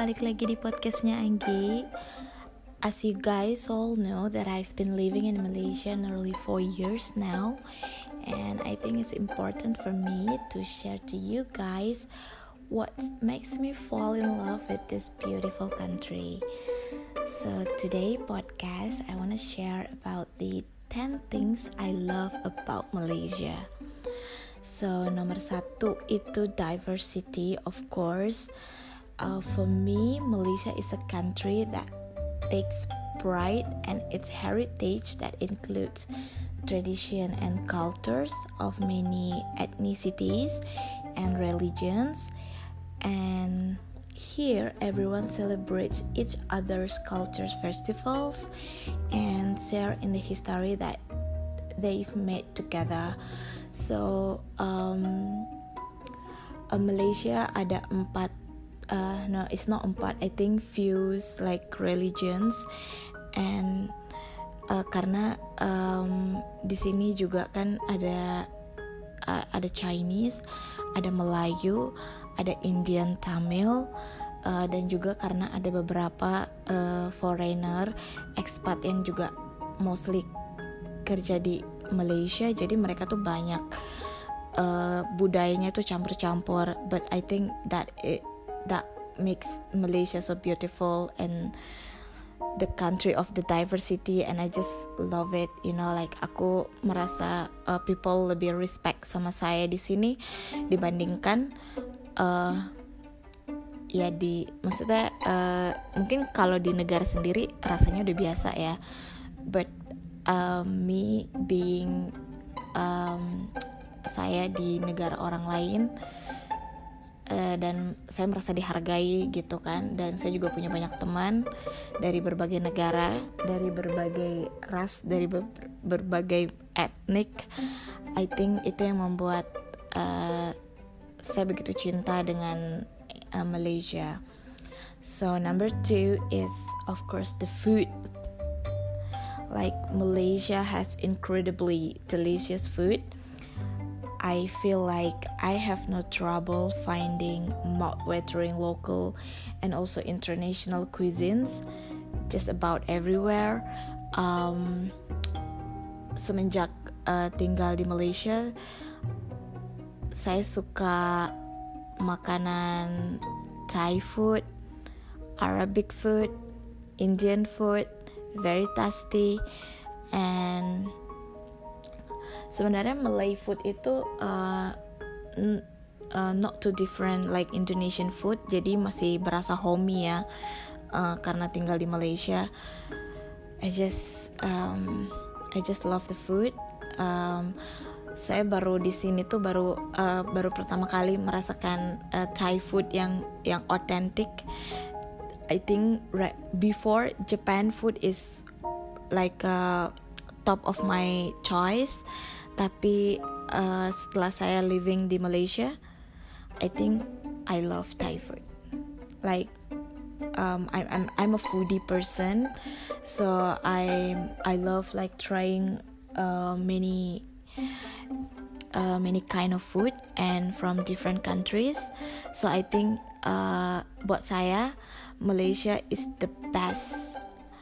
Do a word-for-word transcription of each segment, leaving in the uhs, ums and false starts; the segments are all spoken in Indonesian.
balik lagi di podcastnya Anggi. As you guys all know that I've been living in Malaysia nearly four years now, and I think it's important for me to share to you guys what makes me fall in love with this beautiful country. So today podcast I want to share about the ten things I love about Malaysia. So nomor satu itu diversity, of course. Uh, for me, Malaysia is a country that takes pride in its heritage that includes tradition and cultures of many ethnicities and religions. And here, everyone celebrates each other's cultures, festivals, and share in the history that they've made together. So, um, uh, Malaysia ada empat. Uh, no, it's not empat. I think views like religions, and uh, karena um, di sini juga kan ada uh, ada Chinese, ada Melayu, ada Indian, Tamil, uh, dan juga karena ada beberapa uh, foreigner, expat yang juga mostly kerja di Malaysia, jadi mereka tuh banyak uh, budayanya tuh campur-campur. But I think that it that makes Malaysia so beautiful and the country of the diversity, and I just love it, you know, like aku merasa uh, people lebih respect sama saya di sini dibandingkan uh, ya di maksudnya uh, mungkin kalau di negara sendiri rasanya udah biasa ya, but uh, me being um, saya di negara orang lain, Uh, dan saya merasa dihargai gitu kan, dan saya juga punya banyak teman dari berbagai negara, dari berbagai ras, dari ber- berbagai etnik. I think itu yang membuat uh, saya begitu cinta dengan uh, Malaysia. So number two is of course the food. Like Malaysia has incredibly delicious food. I feel like I have no trouble finding mouth-watering local and also international cuisines just about everywhere. Um, semenjak uh, tinggal di Malaysia, saya suka makanan Thai food, Arabic food, Indian food, very tasty, and sebenarnya Malay food itu uh, n- uh, not too different like Indonesian food, jadi masih berasa homey ya, uh, karena tinggal di Malaysia. I just um, I just love the food. Um, saya baru di sini tuh baru uh, baru pertama kali merasakan uh, Thai food yang yang authentic. I think right before Japan food is like uh, top of my choice. Tapi uh, setelah saya living di Malaysia, I think I love Thai food. Like um, I'm I'm I'm a foodie person, so I I love like trying uh, many uh, many kind of food and from different countries. So I think uh, buat saya Malaysia is the best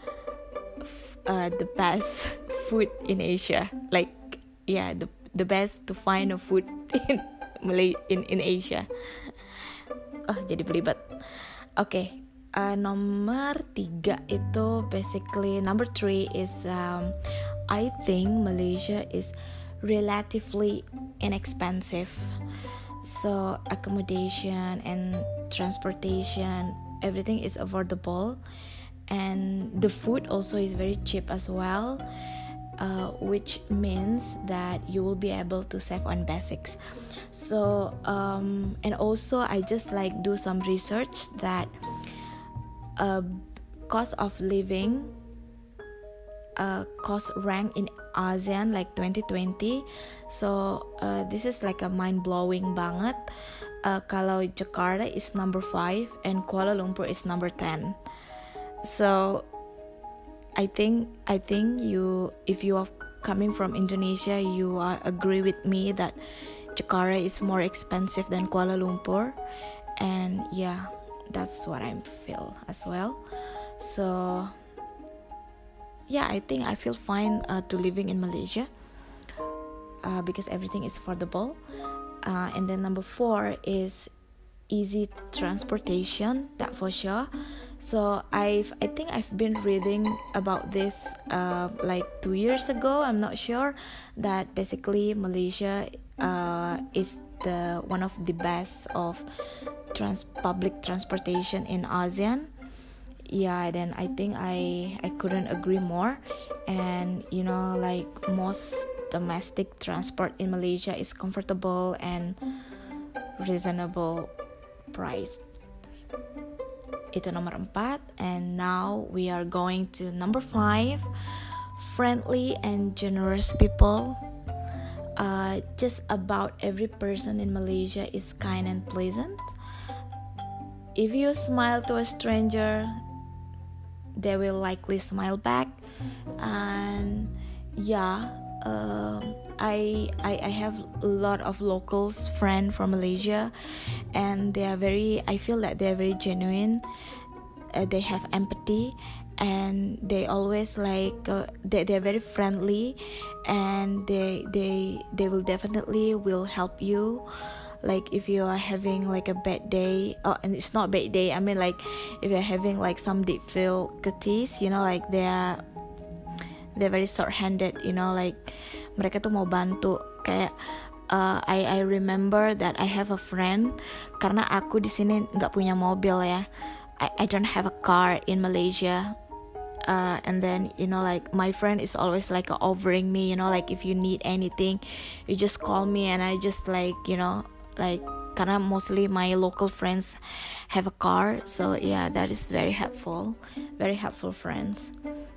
uh, the best food in Asia. Like yeah, the the best to find a food in Malay in in Asia. Oh, jadi belibet. Oke, okay. uh, nomor tiga itu basically number three is um, I think Malaysia is relatively inexpensive. So accommodation and transportation, everything is affordable, and the food also is very cheap as well. Uh, which means that you will be able to save on basics. So um, and also I just like do some research that uh, cost of living uh, cost rank in ASEAN like twenty twenty. So uh, this is like a mind blowing banget. Uh, kalau Jakarta is number five and Kuala Lumpur is number ten. So I think I think you if you are coming from Indonesia, you are agree with me that Jakarta is more expensive than Kuala Lumpur, and yeah, that's what I feel as well. So yeah, I think I feel fine uh, to living in Malaysia uh, because everything is affordable. Uh, and then number four is easy transportation, that for sure. So I've I think I've been reading about this uh, like two years ago. I'm not sure that basically Malaysia uh, is the one of the best of trans public transportation in ASEAN. Yeah, then I think I I couldn't agree more. And you know, like most domestic transport in Malaysia is comfortable and reasonable price. Itu nomor empat. And now we are going to number five. Friendly and generous people. Uh, just about every person in Malaysia is kind and pleasant. If you smile to a stranger, they will likely smile back. And yeah, um, I, I I have a lot of locals friends from Malaysia, and they are very. I feel that they are very genuine. Uh, they have empathy, and they always like uh, they they are very friendly, and they they they will definitely will help you. Like if you are having like a bad day, oh, and it's not bad day. I mean like if you're having like some difficulties, you know, like they are they're very short-handed, you know, like mereka tuh mau bantu. Kayak uh, I I remember that I have a friend, karena aku di sini nggak punya mobil ya. I I don't have a car in Malaysia. Uh, and then you know like my friend is always like offering me, you know, like if you need anything, you just call me, and I just like you know like karena mostly my local friends have a car, so yeah, that is very helpful, very helpful friends.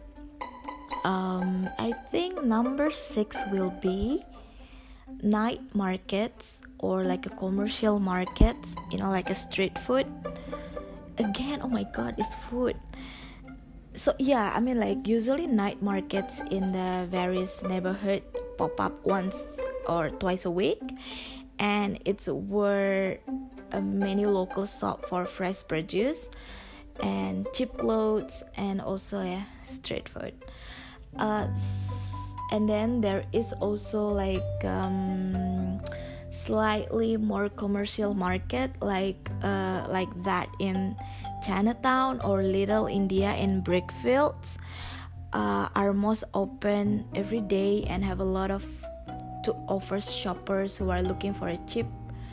Um, I think number six will be night markets or like a commercial markets, you know, like a street food. Again, oh my god, it's food. So yeah, I mean like usually night markets in the various neighborhood pop up once or twice a week, and it's where uh, many locals shop for fresh produce and cheap clothes, and also yeah, street food. Uh, and then there is also like um, slightly more commercial market like uh, like that in Chinatown or Little India in Brickfields. Uh, are most open every day and have a lot of to offer shoppers who are looking for a cheap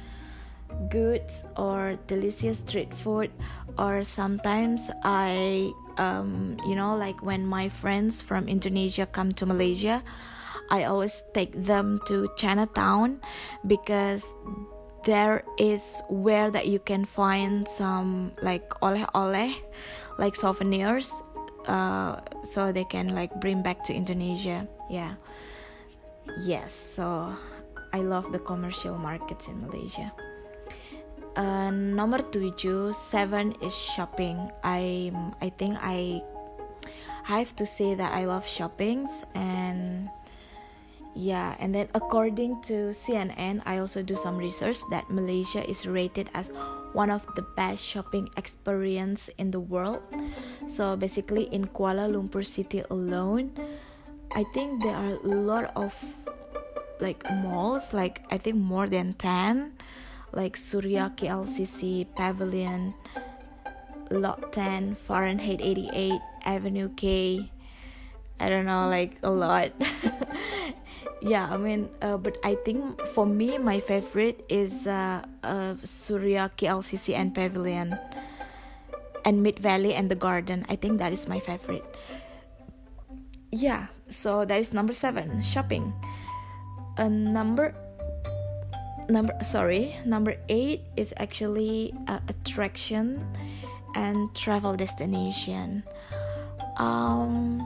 goods or delicious street food. Or sometimes I um, you know like when my friends from Indonesia come to Malaysia, I always take them to Chinatown, because there is where that you can find some like oleh-oleh, like souvenirs, uh, so they can like bring back to Indonesia. Yeah. Yes, so I love the commercial markets in Malaysia. Uh, nomor tujuh, seven is shopping. I I think I I have to say that I love shoppings, and yeah, and then according to C N N, I also do some research that Malaysia is rated as one of the best shopping experience in the world. So basically in Kuala Lumpur city alone, I think there are a lot of like malls, like I think more than ten, like Surya K L C C, Pavilion, Lot ten, Fahrenheit eighty-eight, Avenue K. I don't know, like a lot. Yeah, I mean, uh, but I think for me, my favorite is uh, uh, Surya K L C C and Pavilion, and Mid Valley and the Garden. I think that is my favorite. Yeah, so that is number seven, shopping. Uh, number number sorry, number eight is actually uh, attraction and travel destination. Um.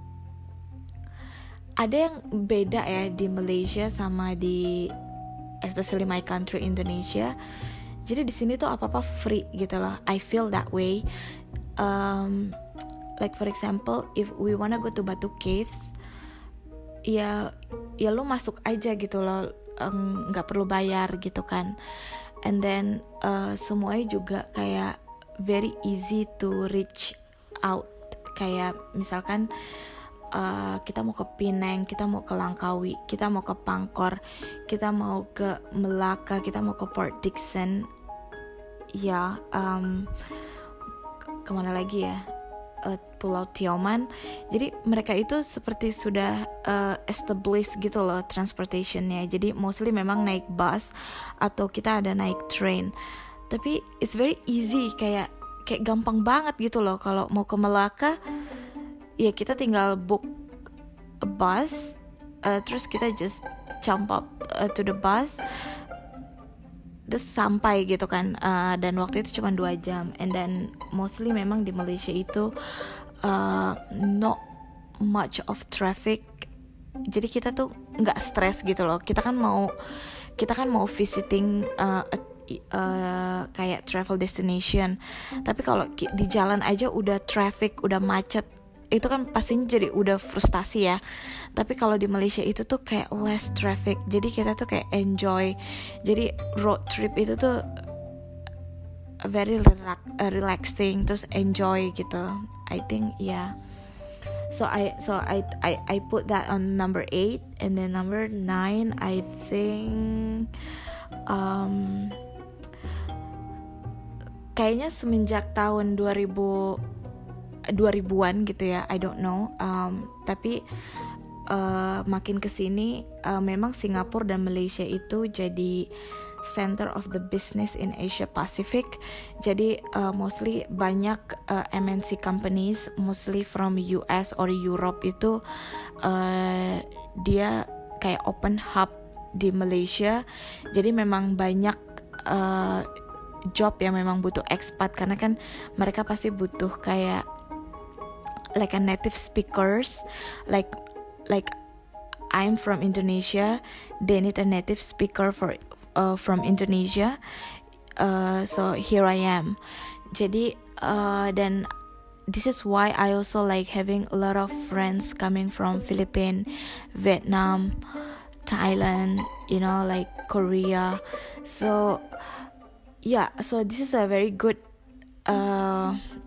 Ada yang beda ya di Malaysia sama di especially my country Indonesia. Jadi di sini tuh apa-apa free gitu loh. I feel that way. Um, like for example, if we wanna go to Batu Caves, ya ya lu masuk aja gitu loh, nggak um, perlu bayar gitu kan. And then uh, semuanya juga kayak very easy to reach out. Kayak misalkan uh, kita mau ke Pineng, kita mau ke Langkawi, kita mau ke Pangkor, kita mau ke Melaka, kita mau ke Port Dickson, ya um, kemana lagi ya, uh, Pulau Tioman. Jadi mereka itu seperti sudah uh, established gitu loh transportationnya. Jadi mostly memang naik bus atau kita ada naik train. Tapi it's very easy, kayak kayak gampang banget gitu loh. Kalau mau ke Melaka, ya kita tinggal book a bus, uh, terus kita just jump up uh, to the bus, terus sampai gitu kan. Uh, dan waktu itu cuma dua jam. And then mostly memang di Malaysia itu uh, not much of traffic. Jadi kita tuh nggak stres gitu loh. Kita kan mau kita kan mau visiting uh, a Uh, kayak travel destination, tapi kalau di jalan aja udah traffic, udah macet, itu kan pastinya jadi udah frustasi ya. Tapi kalau di Malaysia itu tuh kayak less traffic, jadi kita tuh kayak enjoy. Jadi road trip itu tuh very relax, uh, relaxing, terus enjoy gitu. I think yeah. So I so I I I put that on number eight, and then number nine I think um kayaknya semenjak tahun dua ribu dua ribuan gitu ya, I don't know, um, tapi uh, makin kesini uh, memang Singapura dan Malaysia itu jadi center of the business in Asia Pacific. Jadi uh, mostly banyak uh, M N C companies, mostly from U S or Europe itu uh, dia kayak open hub di Malaysia. Jadi memang banyak uh, job yang memang butuh expat, karena kan mereka pasti butuh kayak like a native speakers, like like I'm from Indonesia, they need a native speaker for uh, from Indonesia, uh, so here I am. Jadi uh, dan this is why I also like having a lot of friends coming from Philippines, Vietnam, Thailand, you know, like Korea. So yeah, so this is a very good uh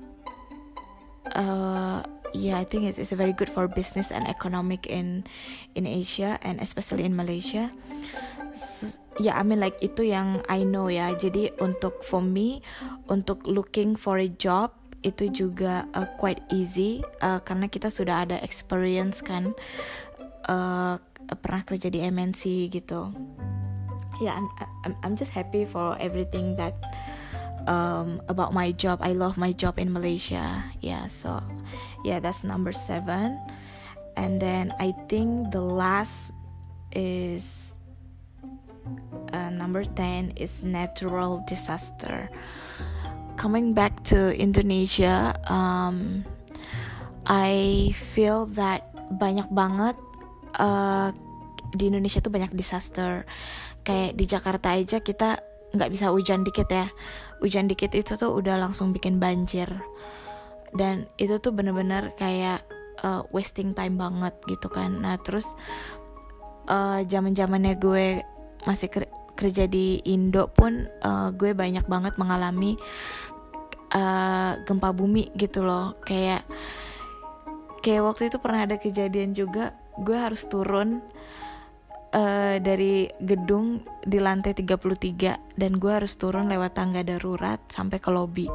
uh yeah, I think it's, it's a very good for business and economic in in Asia and especially in Malaysia. So, yeah, I mean like itu yang I know ya. Jadi untuk for me, untuk looking for a job itu juga uh, quite easy, uh, karena kita sudah ada experience kan, uh, pernah kerja di M N C gitu. Yeah, I'm, I'm I'm just happy for everything that um about my job. I love my job in Malaysia. Yeah, so yeah, that's number seven. And then I think the last is uh, number ten is natural disaster. Coming back to Indonesia, um I feel that banyak banget uh, di Indonesia tuh banyak disaster. Kayak di Jakarta aja kita nggak bisa hujan dikit ya, hujan dikit itu tuh udah langsung bikin banjir, dan itu tuh bener-bener kayak uh, wasting time banget gitu kan. Nah terus uh, zaman-zamannya gue masih ker- kerja di Indo pun uh, gue banyak banget mengalami uh, gempa bumi gitu loh. Kayak kayak waktu itu pernah ada kejadian juga, gue harus turun Uh, dari gedung di lantai tiga puluh tiga, dan gue harus turun lewat tangga darurat sampai ke lobi.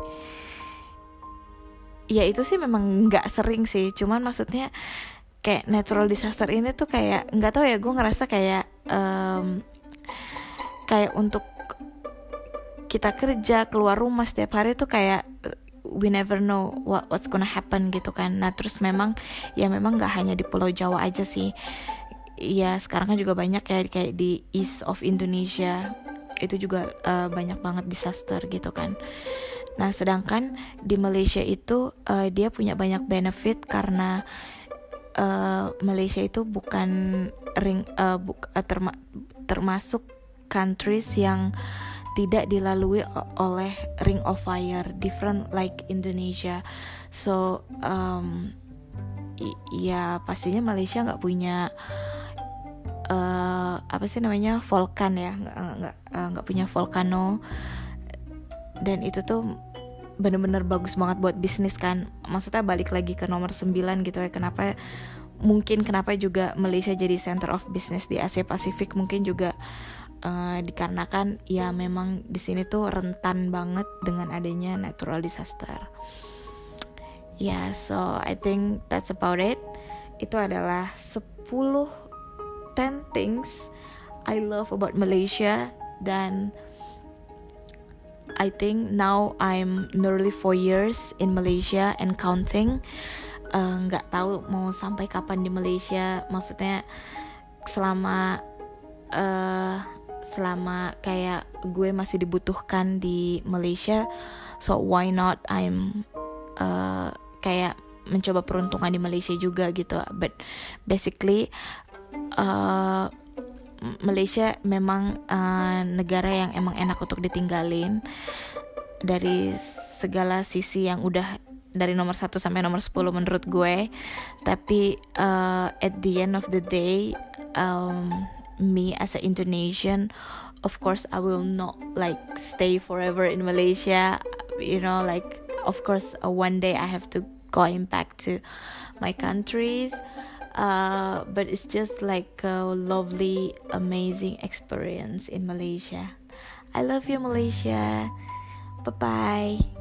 Ya itu sih memang gak sering sih, cuman maksudnya kayak natural disaster ini tuh kayak gak tahu ya, gue ngerasa kayak um, kayak untuk kita kerja keluar rumah setiap hari tuh kayak we never know what, what's gonna happen gitu kan. Nah terus memang ya memang gak hanya di Pulau Jawa aja sih, ya sekarang kan juga banyak ya kayak di east of Indonesia itu juga uh, banyak banget disaster gitu kan. Nah sedangkan di Malaysia itu uh, dia punya banyak benefit karena uh, Malaysia itu bukan ring uh, buk, uh, terma, termasuk countries yang tidak dilalui oleh ring of fire, different like Indonesia. So um, i- ya pastinya Malaysia nggak punya Uh, apa sih namanya vulkan ya, nggak nggak nggak punya volcano, dan itu tuh bener-bener bagus banget buat bisnis kan. Maksudnya balik lagi ke nomor sembilan gitu ya, kenapa mungkin kenapa juga Malaysia jadi center of business di Asia Pasifik, mungkin juga uh, dikarenakan ya memang di sini tuh rentan banget dengan adanya natural disaster. Yeah, so I think that's about it. Itu adalah sepuluh ten things I love about Malaysia, dan I think now I'm nearly four years in Malaysia and counting. Nggak uh, tahu mau sampai kapan di Malaysia. Maksudnya selama uh, selama kayak gue masih dibutuhkan di Malaysia, so why not I'm uh, kayak mencoba peruntungan di Malaysia juga gitu. But basically uh, Malaysia memang uh, negara yang emang enak untuk ditinggalin dari segala sisi, yang udah dari nomor satu sampai nomor sepuluh menurut gue. Tapi uh, at the end of the day, um, me as an Indonesian, of course I will not like stay forever in Malaysia, you know, like of course uh, one day I have to going back to my countries. Uh, but it's just like a lovely, amazing experience in Malaysia. I love you, Malaysia. Bye bye.